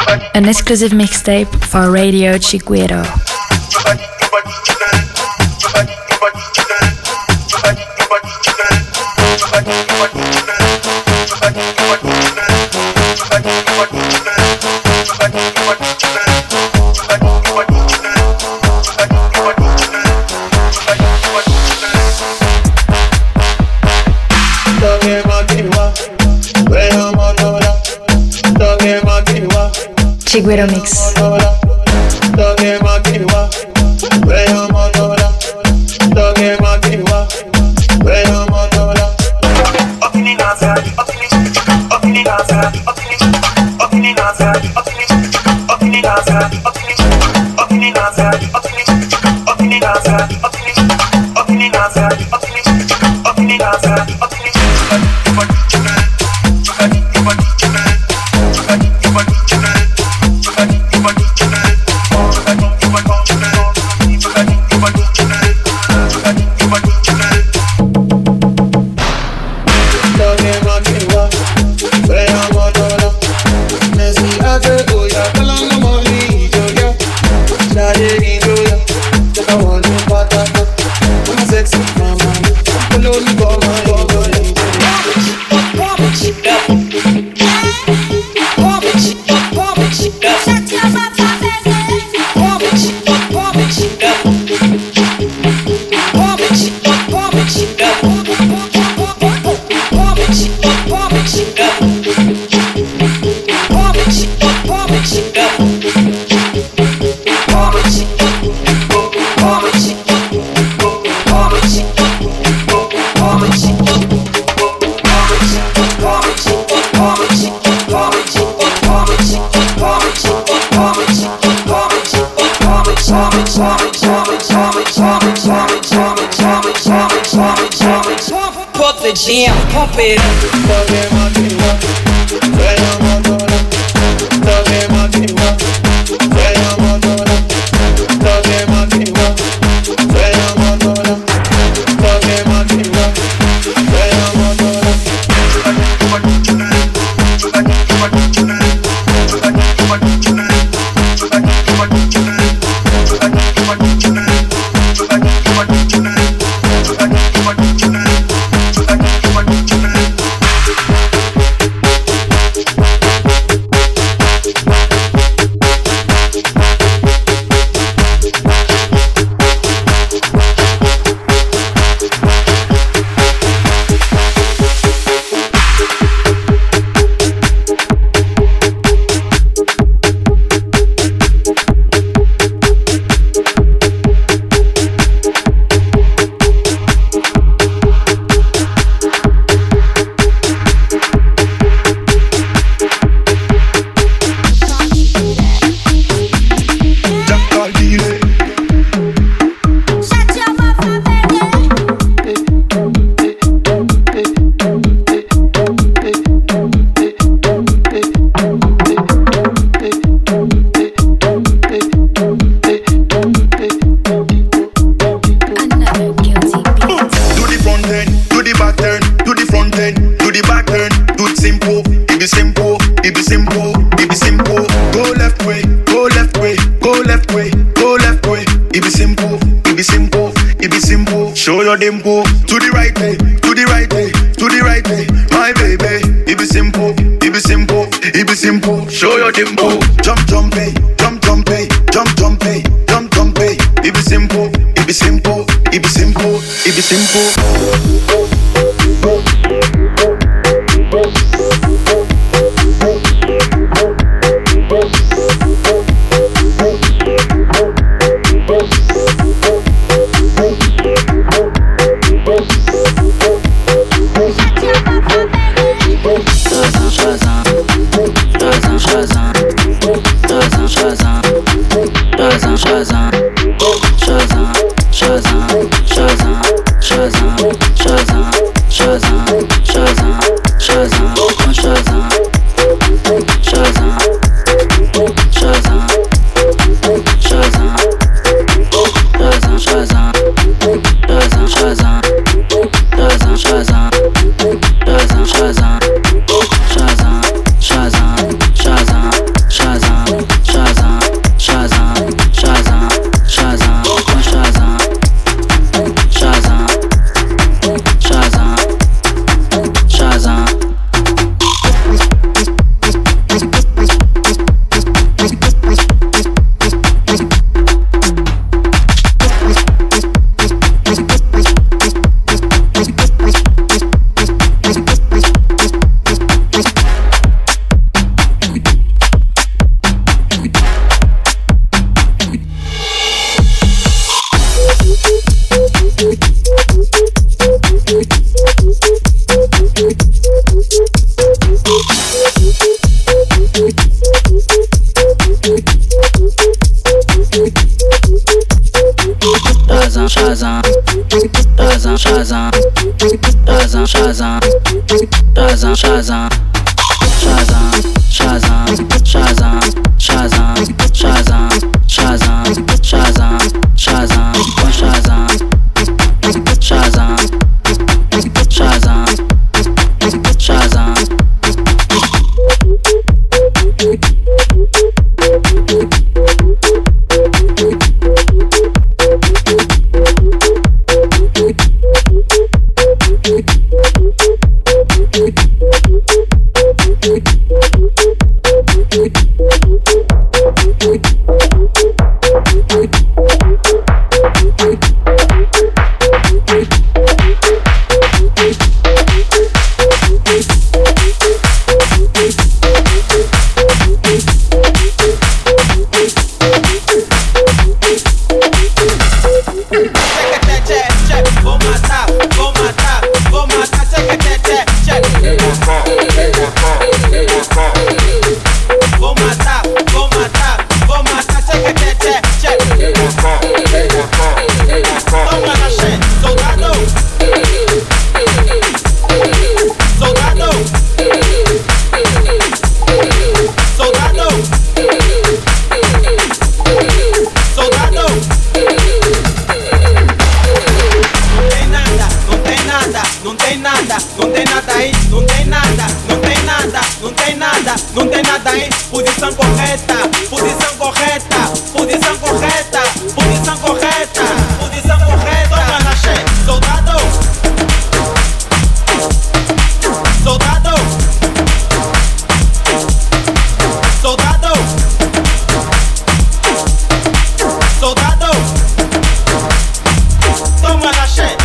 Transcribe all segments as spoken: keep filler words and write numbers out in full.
An exclusive mixtape for Radio Chiguero. Chiguero Mix. Jam, pump it dimple, to the right way, to the right way, to the right way, my baby. It be simple, it be simple, it be simple. Show your dimple, jump, jump, hey, jump, jump, hey, jump, jump, hey, jump, jump, hey. It be simple, it be simple, it be simple, it be simple. Shazam, Shazam, Shazam, Shazam. Shazam, Shazam, Shazam, Shazam, Shazam, Shazam, Shazam, Shazam, Shazam, Shazam, Shazam, Shazam, Shazam, Shazam, Shazam, Shazam, Shazam. Não tem nada aí, posição correta, posição correta, posição correta, posição correta, posição correta. Toma na che, soldado, soldado, soldado, soldado. Toma na che.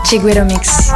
Chiguero Mix.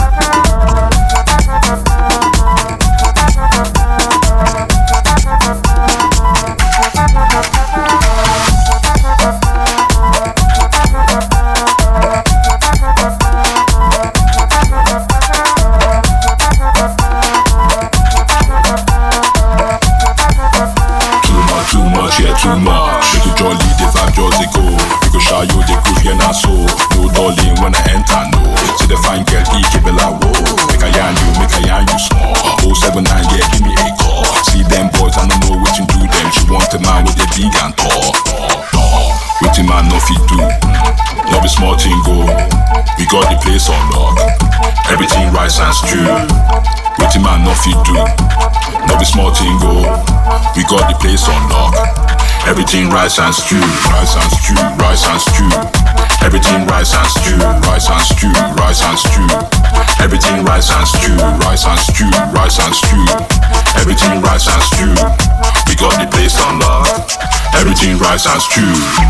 Too much, make you jolly, the vibe just dey go. We go shy you, the groove, yeah, not so. No darling when I enter, no. See the fine girl, he keep it like whoa. Make a yarn you, make a yarn you small. oh seven nine, yeah, give me a call. See them boys, I don't know what you do them. She want a man with a big and tall. What the man no fit do? No be small thing go. We got the place on lock. Everything rice and stew. What the man no fit do? No be small thing go. We got the place on lock. Everything rice and stew, rice and stew, rice and stew. Everything rice and stew, rice and stew, rice and stew. Everything rice and stew, rice and stew, rice and stew. Everything rice and stew. We got the place on lock. Everything rice and stew.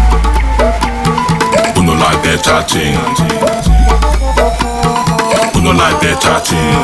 Who no like better thing? Who no like better thing?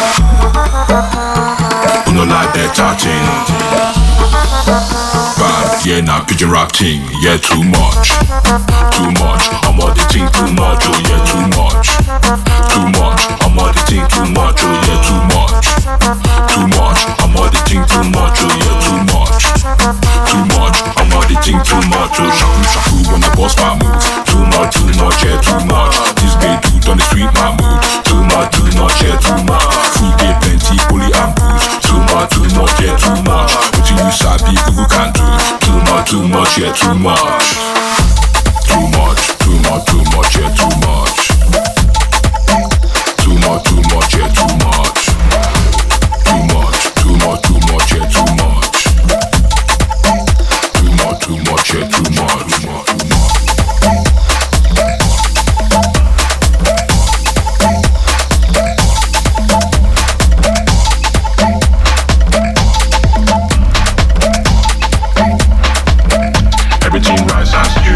Who no like better thing? Bad, yeah, now pigeon rap thing, yeah, too much. Too much, I'm all the thing too much, oh yeah, too much. Too much, I'm all the thing too much, oh yeah, too much. Too much, I'm all the thing too much, oh yeah, too much. Too much, I'm all the thing too much, oh shaku shaku when I boss my move. Too much, too much, yeah, too much. This babe dude on the street my mood. Too much, too much, yeah, too much. Food get plenty, bully and booze. Too much, too much, yeah, too much. What you sabi, Google can do. Too much, too much, yeah, too much. Too much, too much, too much, yeah, too much. Too much, too much, yeah, too much. Too much, too much, too much, yeah, too much. Too much, too much, yeah, too much. Too much, too much. Everything rice and stew.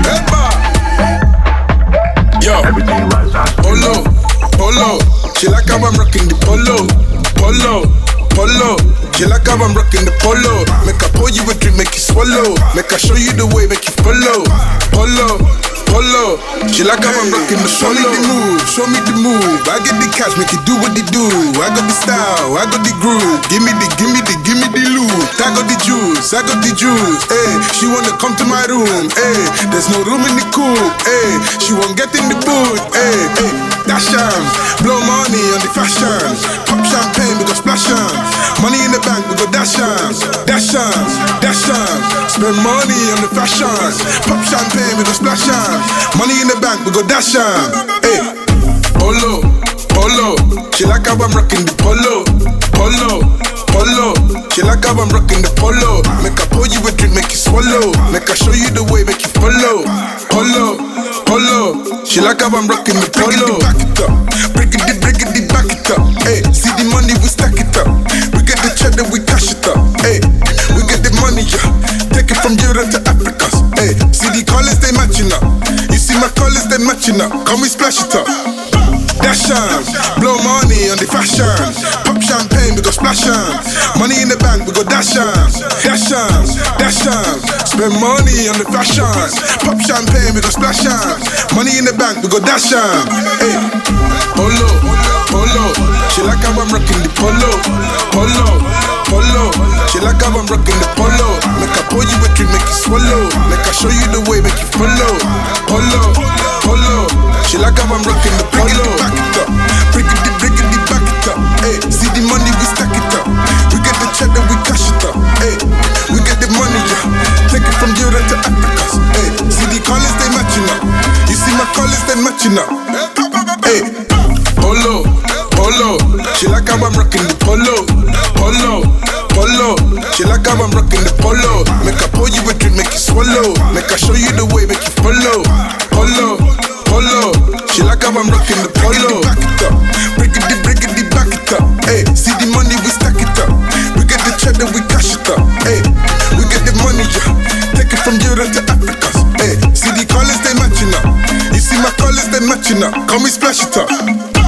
Yo, everything rice and stew. Polo, polo, she like how I'm rocking the polo, polo, polo. She like how I'm rocking the polo. Make her pour you a drink, make you swallow. Make her show you the way, make you follow. Polo, polo. She like how I'm rocking the show me the move, show me the move. I get the cash, make you do what they do. I got the style, I got the groove. Give me the, give me the, give me the loot. I got the juice, I got the juice. Hey, she wanna come to my room. Hey, there's no room in the coupe. Hey, she won't get in the boot. Hey, hey, dash shams, blow money on the fashion. Pop champagne, we go splash shams. Money in the bank, we go dash shams, dash shams, dash shams. Spend money on the fashion. Pop champagne, we go splash shams. Money in the bank, we go dash shams. Hey, polo, polo. She like how I'm rocking the polo, polo, polo. She like how I'm rocking the polo. Make her pour you a drink, make you swallow. Make her show you the way, make you follow. Polo, polo. She like how I'm rocking the polo. Back it up, break it, break it, back it up. Hey, see the money, we stack it up. We get the cheddar, we cash it up. Hey, we get the money, yeah. Take it from Europe to Africa. Hey, see the colors, they matching up. You see my colors, they matching up. Come we splash it up. Dash shams, blow money on the fashion. Pop champagne, we go splash shams. Money in the bank, we go dash shams. Dash shams, dash shams. Spend money on the fashion. Pop champagne, we go splash shams. Money in the bank, we go dash shams. Hey, polo, polo. She like how I'm rocking the polo, polo, polo. She like how I'm rocking the polo. Make her pour you a drink, make you swallow. Make her show you the way, make you follow. Polo, polo. She like how I'm rocking the polo. Back it up, break it, break it, back it up. Hey, see the money, we stack it up. We get the cheddar, we cash it up. Hey, we get the money, yeah. Take it from Europe to Africa. Hey, see the colors, they matching up. You see my colors, they matching up. Hey, polo, polo. She like how I'm rocking the polo, polo, polo. She like how I'm rocking the polo. Make her pour you a drink, make you swallow. Make her show you the way, make you follow. Polo, polo. She like how I'm rocking the polo. Back it up, break it, break it, back it up. Hey, see the money, we stack it up. We get the cheddar, we cash it up. Hey, we get the money, yeah. Take it from Europe to Africa. Hey, see the colors, they matching up. You see my colors, they matching up. Come we splash it up.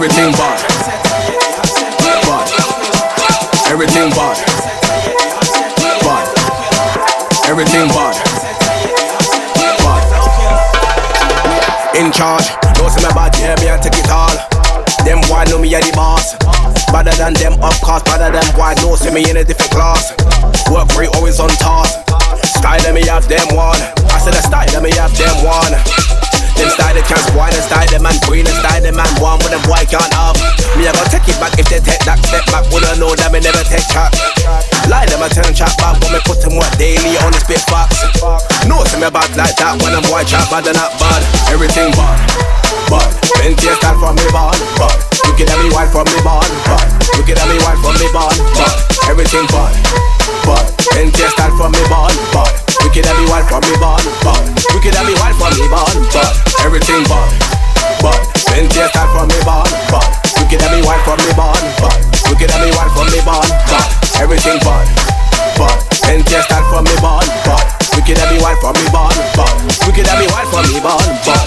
everything bad. Bad. Everything bad. Bad. Everything bad. Bad. In charge, don't see me bad, yeah, me I take it all. Them boy know me a the boss. Better than them, of course, better than boy know see me in a different class. Work rate always on task. Style them me have them one. I said the style them me have them one. Them style they can't spoil, and style them man green, and style them man one, but them boy can't have. Me I gotta take it back if they take that step back. Woulda know that me never take chat. Lie them I turn chat back, but me put them work daily on the spit facts. No see me bad like that when them boy chat bad and not bad. Everything bad, bad. Plenty of style from me bad, bad. Look at me wife from me bad, bad. Look at me wife from me bad, bad. Everything bad, bad. Plenty of style from me bad, bad. Look at me wife from me bad, bad. Look at me wife from me bad, bad. Everything bad, bad. Plenty of style from me bad, bad. Look at me wife from me bad, bad. Look at me wife from me bad, bad. Everything bad, bad. Plenty of style from me bad, bad. Look at me wife from me bad, bad. Look at me wife from me bad, bad.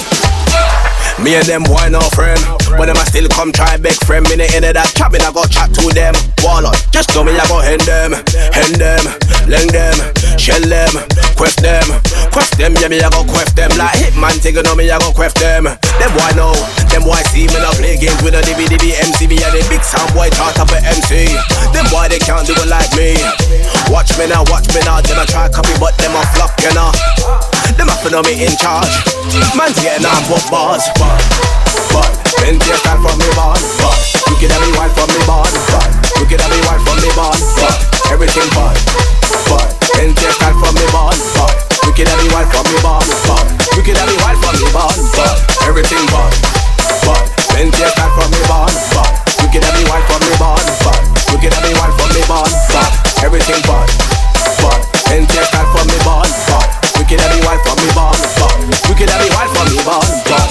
Me and them boy no friend. When them I still come try beg friend. Me the end of that chat, me I go chat to them. Wallet, just tell me I go hand them, hand them, leng them, shell them, quest them, quest them. Yeah, me I go quest them like Hitman. Take it on me I go quest them. Them boy know, them boy see me not play games with a D V D B M C. Me and the big sound boy chart up a M C. Them boy they can't do it like me. Watch me now, watch me now. Them I try copy but them a flop, you know. Them a know me in charge. Man's getting on both bars. But, but, plenty of style from me bad. But, look at me wife from me bad. But, look at me wife from me bad. But, everything bad. But, plenty of style from me bad. But, look at me wife from me bad. But, look at me wife from me bad. But, everything bad. But, plenty of style from me bad. But, look at me wife from me bad. But, look at me wife from me bad. But, everything bad. But, plenty of style from me bad. But, look at me wife from me bad. But, look at me wife from me bad. But,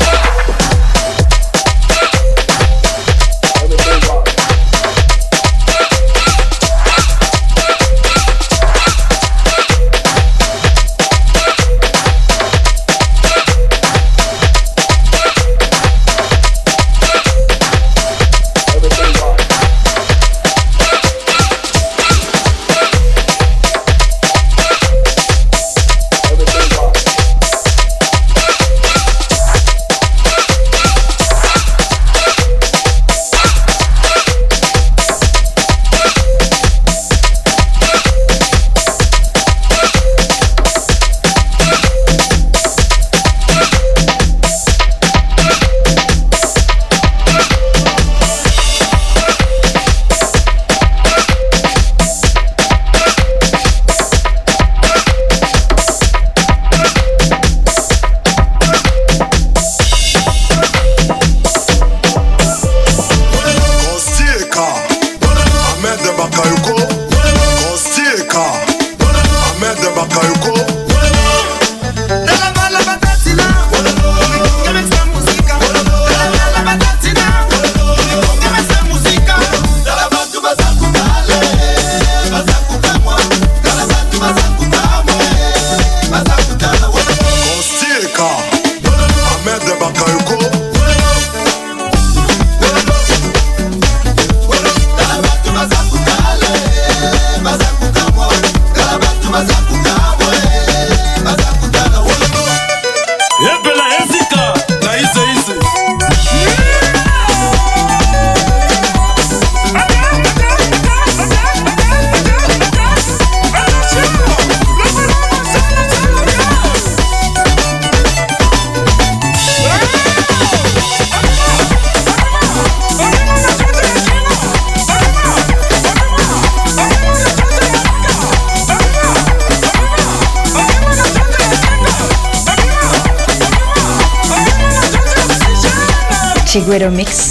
Chiguero Mix.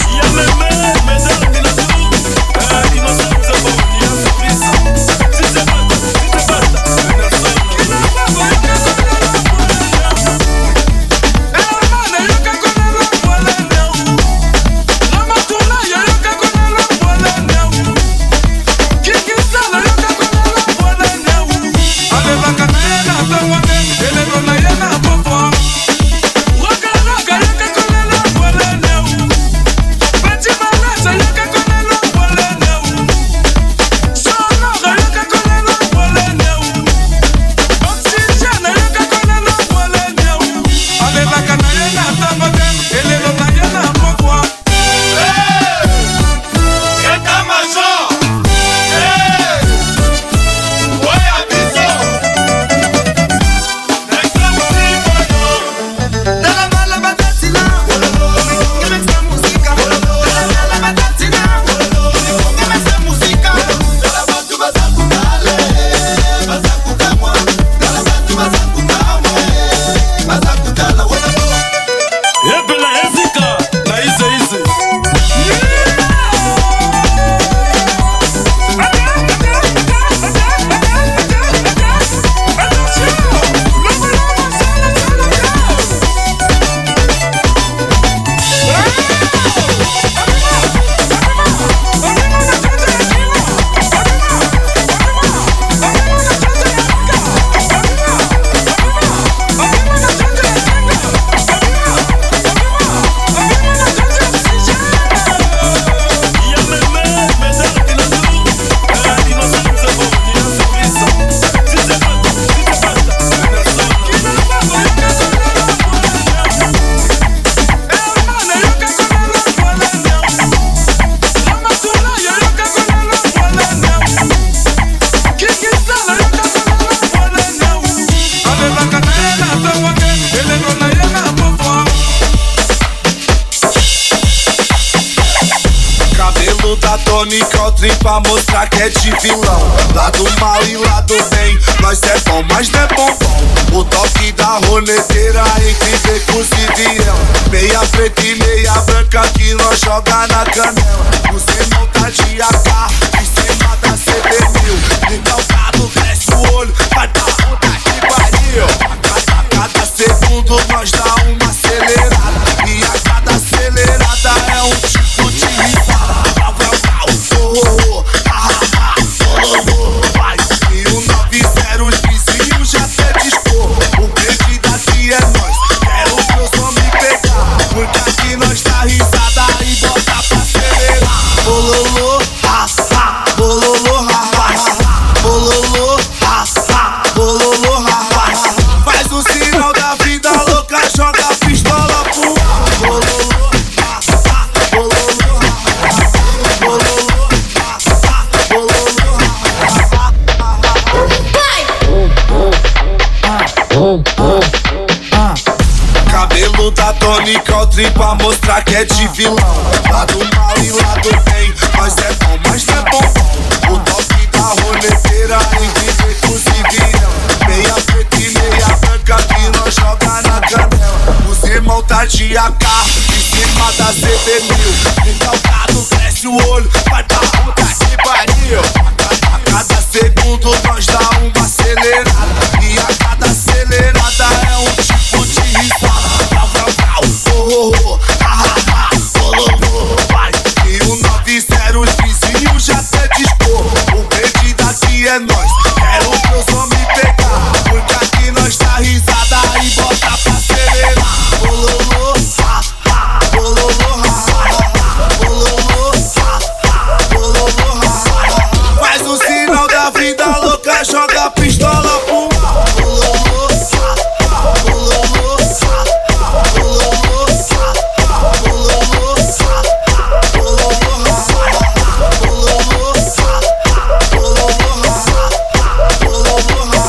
Tony Country pra mostrar que é de vilão. Lado mal e lado bem, nós é bom, mas não é bombom. O toque da roneteira entre becos e viela. Meia preta e meia branca que nós joga na canela. Você não tá de A K, em cima da C B mil. Recalcado, cresce o olho, vai pra puta que pariu. A cada segundo nós dá uma acelerada. E a cada acelerada é um tipo de risada. Brau, brau, brau, oh, oh, oh, ah, ah, ah, oh, oh, oh, vai. E o nove zero, os vizinhos já até dispor. O grande daqui é nós, quero que eu só me pegar. Porque aqui nós dá risada e bota pra acelerar. Bololô, ah, ah, bololô, ah, ah, ah, bololô, ah, ah, bololô, ah, ah, ah. Faz o sinal da vida louca, joga a pistola pro ar. Bololô, ah, ah, bololô, ah, ah, bololô, ah, ah, bololô, ah, ah. Cabelo da Tony Country pra mostrar que é de vilão. Lado mal e lado bem, nós é bom, mas não é bombom. O toque da roneteira entre becos e viela. Meia preta e meia branca que nós joga na canela. Os irmãos tá de A K, em cima da C B mil. Recalcado, cresce o olho, vai pra puta que pariu. A cada segundo nós dá uma acelerada. E a cada acelerada é um tipo de risada. Brau, brau, brau, oh, oh, oh, ah, ah, ah, oh, oh, oh, vai. E o nove zero, os vizinhos já até dispor. O verde daqui é nós, quero que eu só me pegar. Porque aqui nós dá risada e bota pra acelerar. Bololô, ah, ah, bololô, ah, ah, bololô, ah, ah, bololô, ah, ah. Faz o sinal da vida louca, joga a pistola pro ar. Bololô, ah, ah, bololô, ah, ah, bololô, ah, ah, bololô, ah, ah, bololô, ah, ah, bololô, ah, ah, bololô, ah, ah, bololô, ah,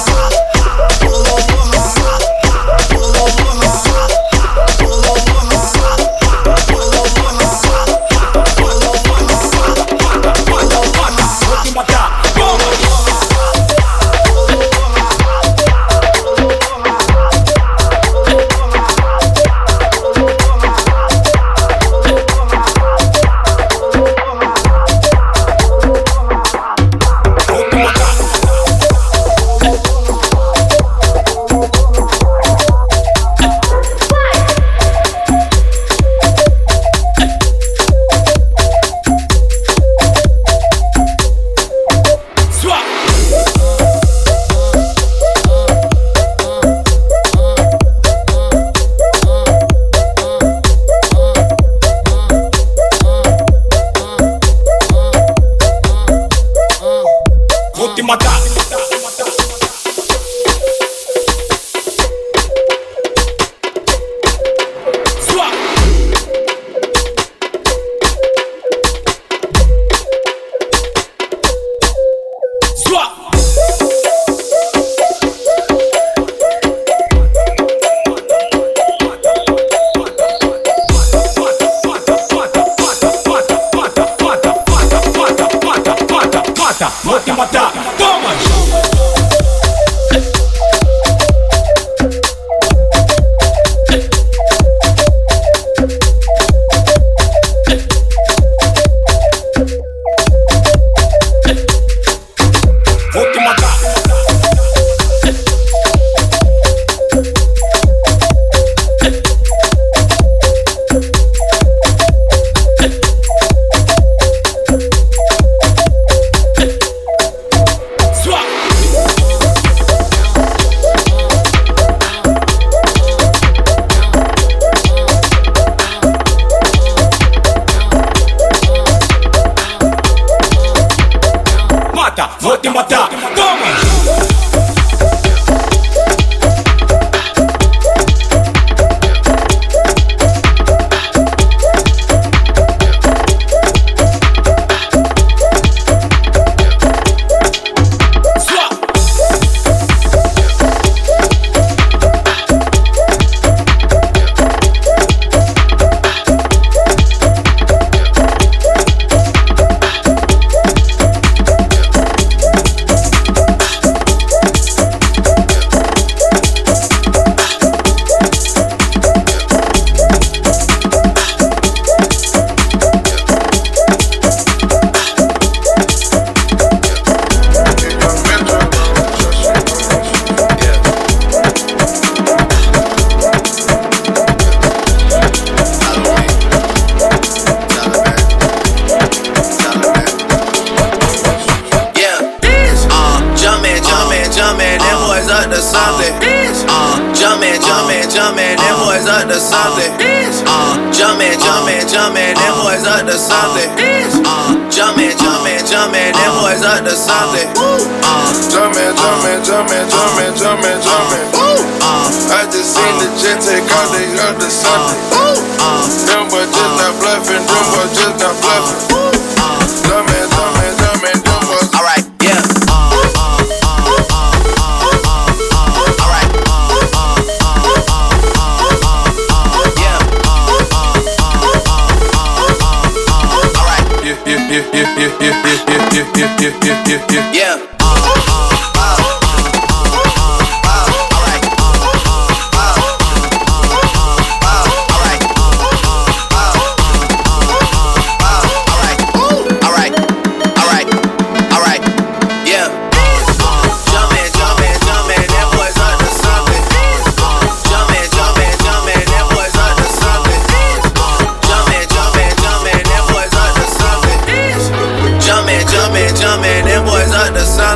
Jumpin', jumpin', jumpin', them boys up to something. Jumpin', jumpin', jumpin', them boys up to something. Jumpin', jumpin', jumpin', jumpin', jumpin', jumpin'. I just seen the jet take out, they up to something. Them boys just not bluffing, them boys just not bluffing. Jumpin', jumpin', jumpin', them boys. Alright, yeah. Yeah, yeah, yeah, yeah, yeah, yeah, yeah, yeah, yeah, yeah, yeah, yeah. Jumpin', them boys up to something.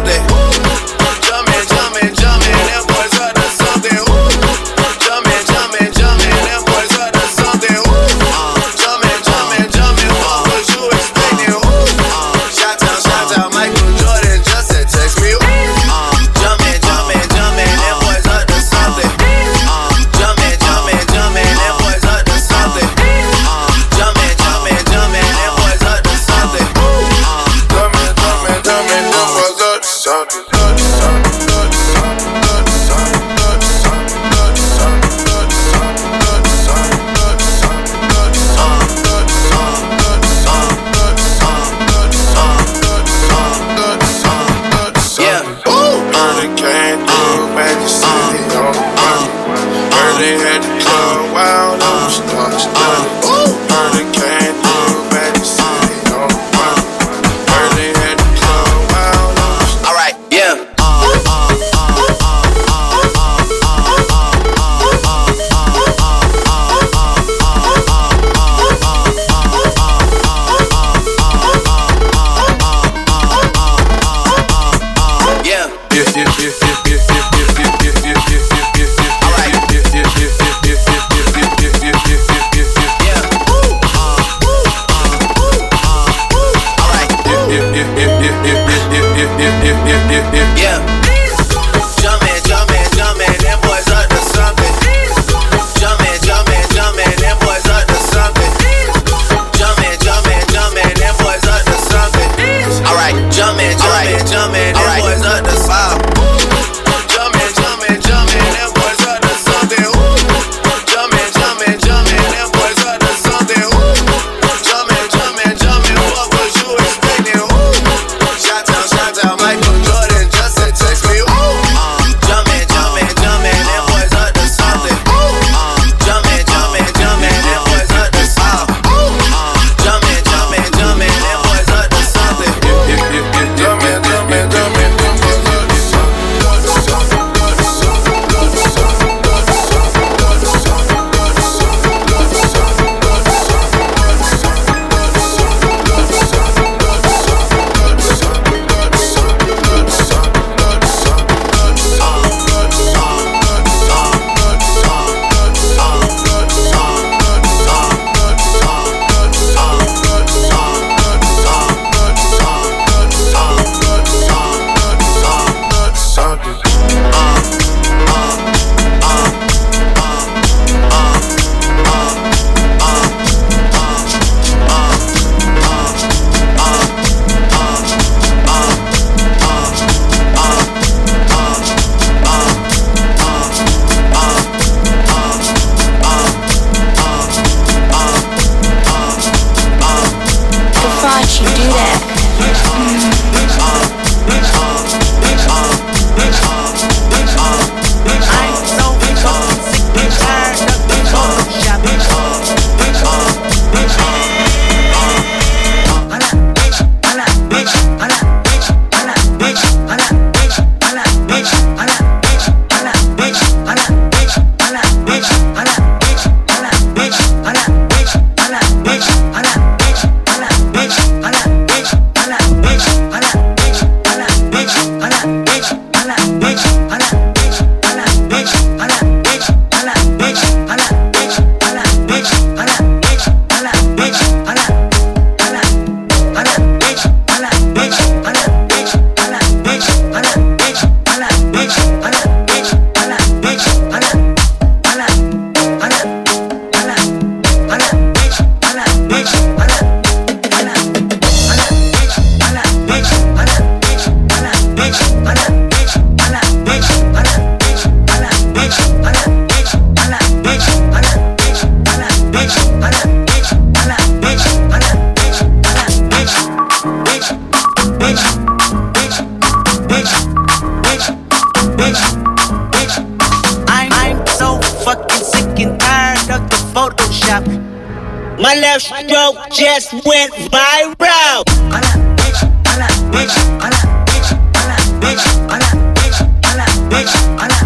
My left stroke just went viral. Bitch, bitch, bitch, bitch, bitch, bitch,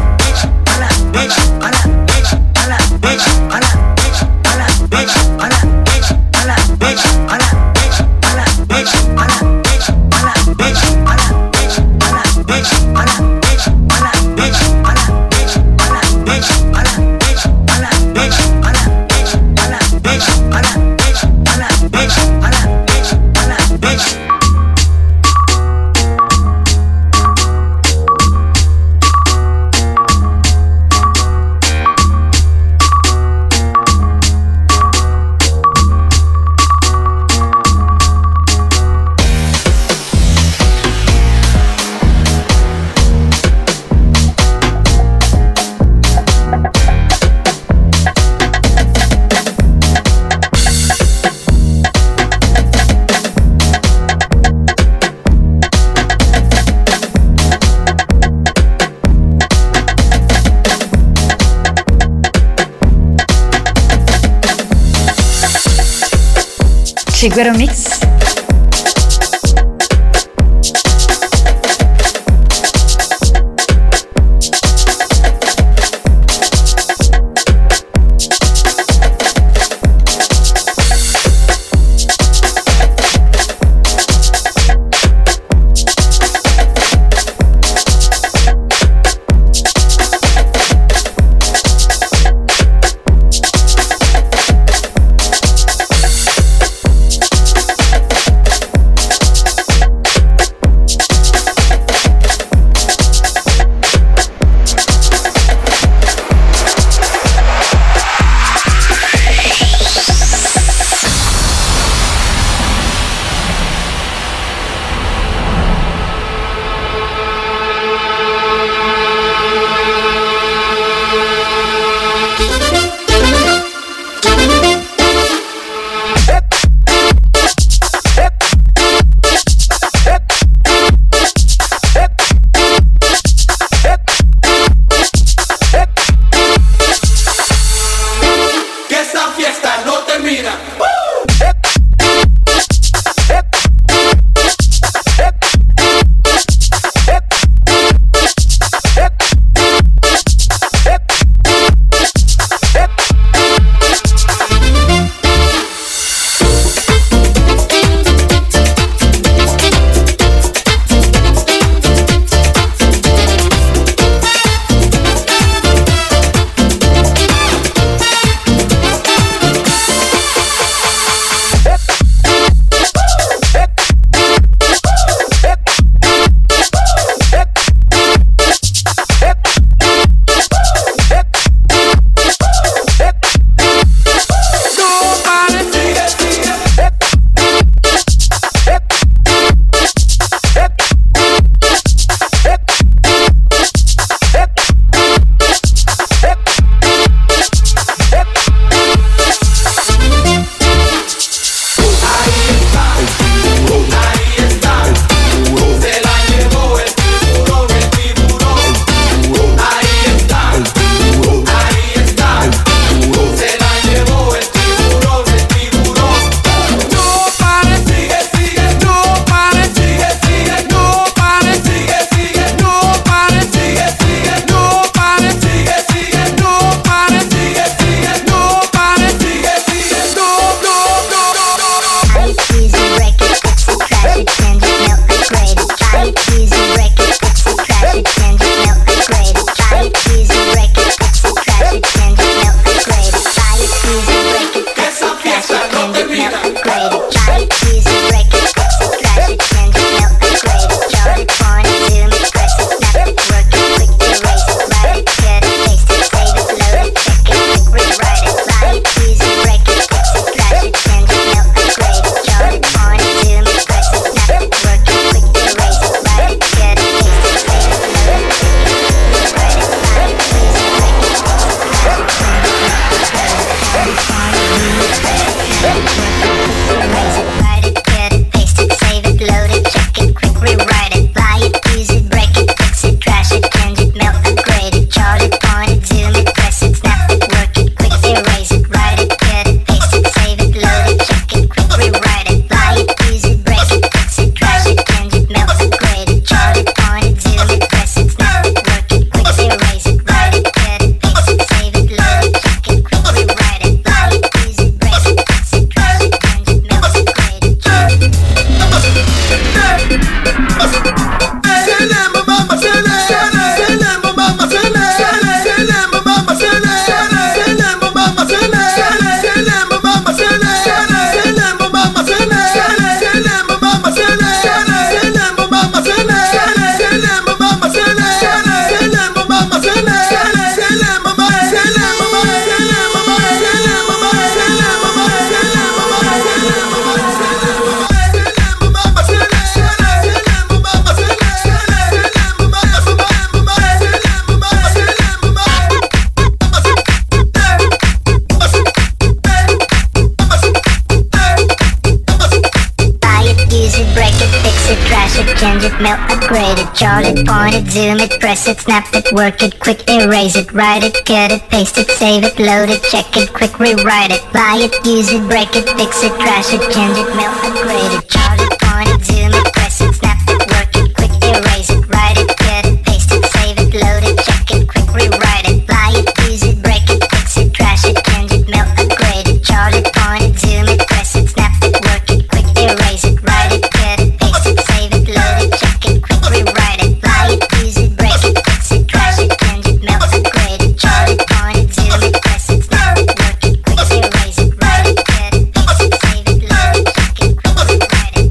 Chiguero Mix. change it, melt, upgrade it, chart it, point it, zoom it, press it, snap it, work it, quick erase it, write it, cut it, paste it, save it, load it, check it, quick rewrite it, buy it, use it, break it, fix it, trash it, change it, melt, upgrade it, chart it, point it, zoom it, press it, snap it, work it, quick erase it, write it, cut it, paste it, save it, load it, check it, quick rewrite it, buy it, use it, break it, fix it, trash it, change it, melt, upgrade it, chart it, point it, zoom it, press it, snap it, work it, quick erase it, write it, cut it, paste it, save it, load it, check it, quick rewrite it, buy it, use it, break it, fix it, trash it, change it, melt, upgrade it, chart it, point it, zoom it, press it, snap it, work it, quick erase it, write it, cut it, paste it, save it, load it, check it, quick rewrite it.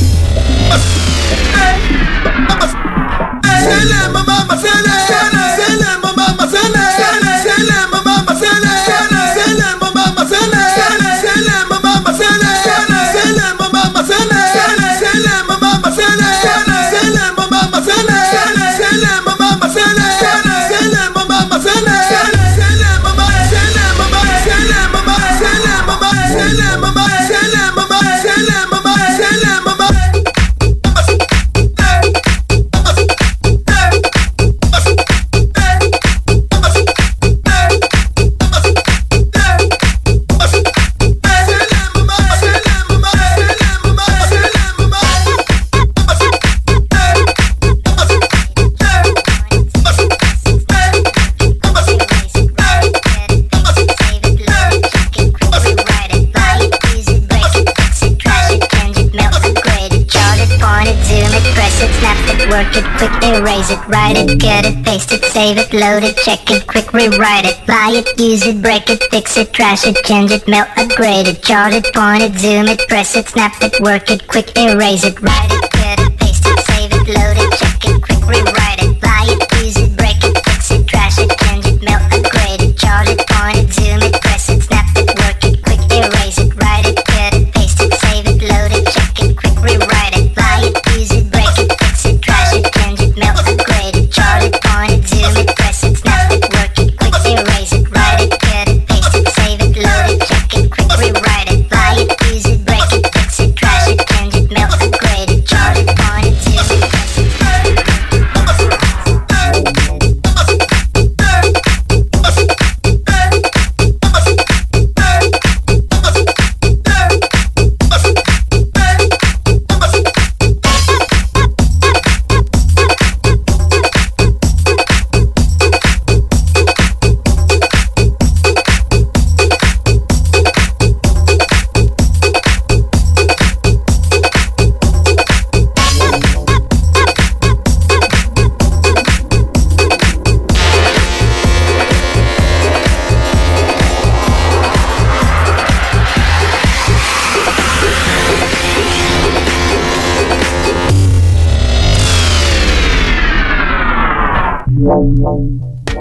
Work it, quick erase it, write it, cut it, paste it, save it, load it, check it, quick rewrite it, buy it, use it, break it, fix it, trash it, change it, melt, upgrade it, chart it, point it, zoom it, press it, snap it, work it, quick erase it, write it, cut it, paste it, save it, load it, check it, quick rewrite it, buy it, use it, break it, fix it, trash it, change it, melt, upgrade it, chart it, point it, zoom it, press it, snap it, work it, quick erase it, write it, cut it, paste it, save it, load it, check it, quick rewrite it, buy it, use it, break it, fix it, trash it, change it, melt, upgrade it, chart it, point it, zoom it, press it, snap it, work it, quick erase it, write it, cut it, paste it, save it, load it, check it, quick rewrite it, buy it, use it, break it, fix it, trash it, change it, melt, upgrade it, chart it, point it, zoom it, press it. Wow.